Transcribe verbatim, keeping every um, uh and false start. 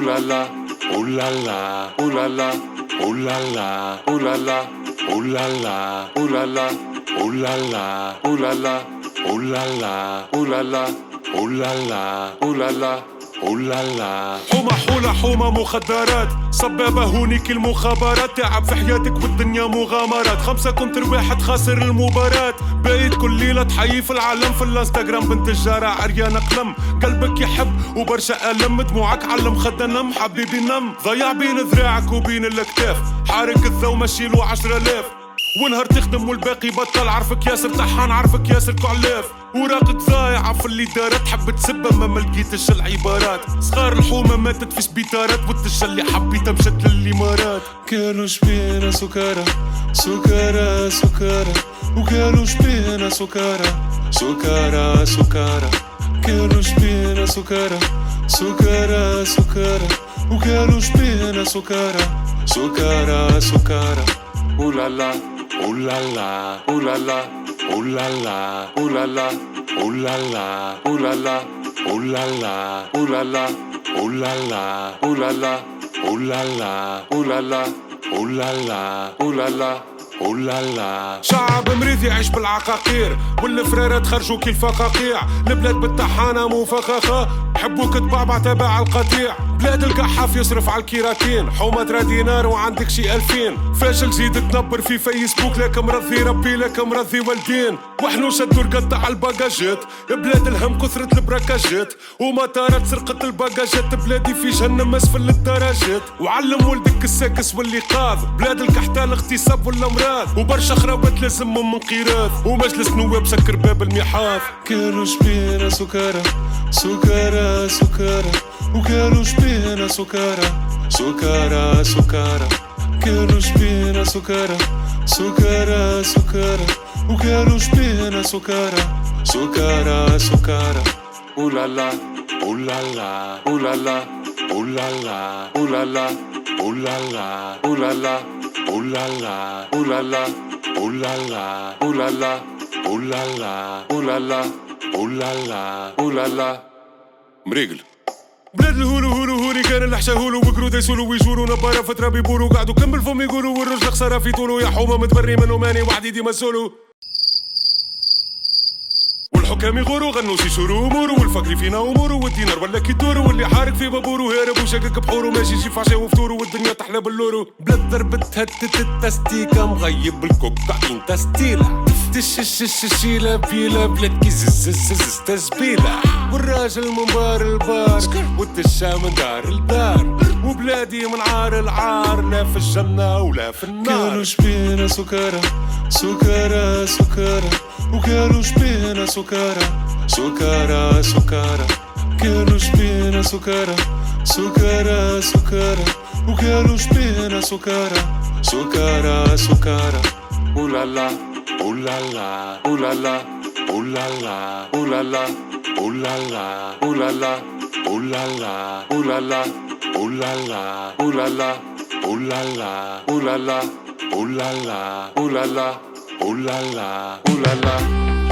la la, ooh la la, ooh la la, ooh la la, ooh la la, ooh la la, ooh la la, ooh la la, ooh la la, ooh la la, ooh la la, ooh la la, ooh la la, ooh la la. حومة حولة حومة مخدرات، صبابة هونيك المخابرات، تعب في حياتك والدنيا مغامرات، خمسة كونتر واحد خاسر المباراة، بايت كل ليلة تحيي في العالم، في الانستغرام بنت الجارة عريانة قلم، قلبك يحب وبرشا ألم، دموعك علم خدنا نم حبيبي نم، ضيع بين ذراعك وبين الاكتاف، حارك الذو مشيلو عشرة آلاف، ونهار تخدم والباقي بطل، عرفك ياسر طحان عرفك ياسر كعلاف، وراقك ضايعة في اللي دارت، تحب تسبة ما ملقيتش العبارات، صغار الحومة ماتت في سبيطارات، والدجة اللي حبيتها مشت للإمارات. كانوا شبينا سكارى سكارى سكارى، وكانوا شبينا سكارى سكارى سكارى، كانوا شبينا سكارى سكارى سكارى، وكانوا شبينا سكارى سكارى سكارى. Ooh la la, ooh la la, ooh la la, ooh la la, ooh la la, ooh la la, ooh la la, ooh la la, ooh la la, ooh la la, ooh la la, ooh la la, ooh la la, ooh la la, ooh la la, ooh la la. شعب مريض يعيش بالعقاقير، والفرارات خرجوا كي الفقاقيع، البلاد بالطحانة مو فخاخة، حبوك تبعبع تبع القطيع، بلاد القحاف يصرف على الكيراتين، حومة درا دينار وعندك شي ألفين، فاشل زيد تنبر في فيسبوك، لك مرضي ربي لك مرضي والدين، وحنو شدوا القطع على الباجاجات، بلاد الهم كثرة البراكاجات، ومطارات سرقة الباجاجات، بلادي في جهنم اسفل الدرجات، وعلم ولدك الساكس واللقاظ، بلاد الكحتال اغتصاب والامراض، وبرشا خرابات لازمهم من قيراث، ومجلس نواب سكر باب الميحاض. كانوا شبينا سكارى سكارى سكارى، وكانوا شبينا سكارى سكارى سكارى، كانوا شبينا سكارى سكارى سكارى، وكانوا شبينا سكارى سكارى سكارى. Ooh la la, ooh la la, ooh la la, ooh la la, ooh la la, ooh la la, ooh la la, ooh la la, ooh la la, ooh la la, ooh la la, ooh la la, ooh la la, ooh la la, ooh la la. مريقل بلاد الهولو هولو هولي كان الحشا هولو، وقرو دايسولو ويجولو نبارة فترة بيبولو، قعدوا كمل فم يقولوا، والرجل خسارة في طولو، يا حومة متبري منو ماني وحدي ديما سولو، والحكام يغورو غنو سيسورو امورو، والفقر فينا امورو، والدينار ولا كيدورو، واللي حارق في بابورو هارب وشاكك بحورو، ماشي شي فعشا وفطورو، والدنيا تحلى باللورو، بلاد ضربت هتت التستيكا، مغيب الكوكايين تستيلا، تششششيلا بيلا، بلاد كي ززززز تزبيلا، والراجل من بار البار، والدشا من دار الدار، وبلادي من عار العار، لا في الجنة ولا في النار. كانوا شبينا سكارى سكارى سكارى، وكانوا شبينا سكارى سكارى سكارى، كانوا شبينا سكارى سكارى سكارى، وكانوا شبينا سكارى سكارى سكارى. Ooh la la, ooh la la, ooh la la, ooh la la, ooh la la, ooh la la, ooh la la, ooh la la, ooh la la, ooh la la, ooh la la, ooh la la, ooh la la, ooh la la, ooh la la, ooh la la, ooh la la.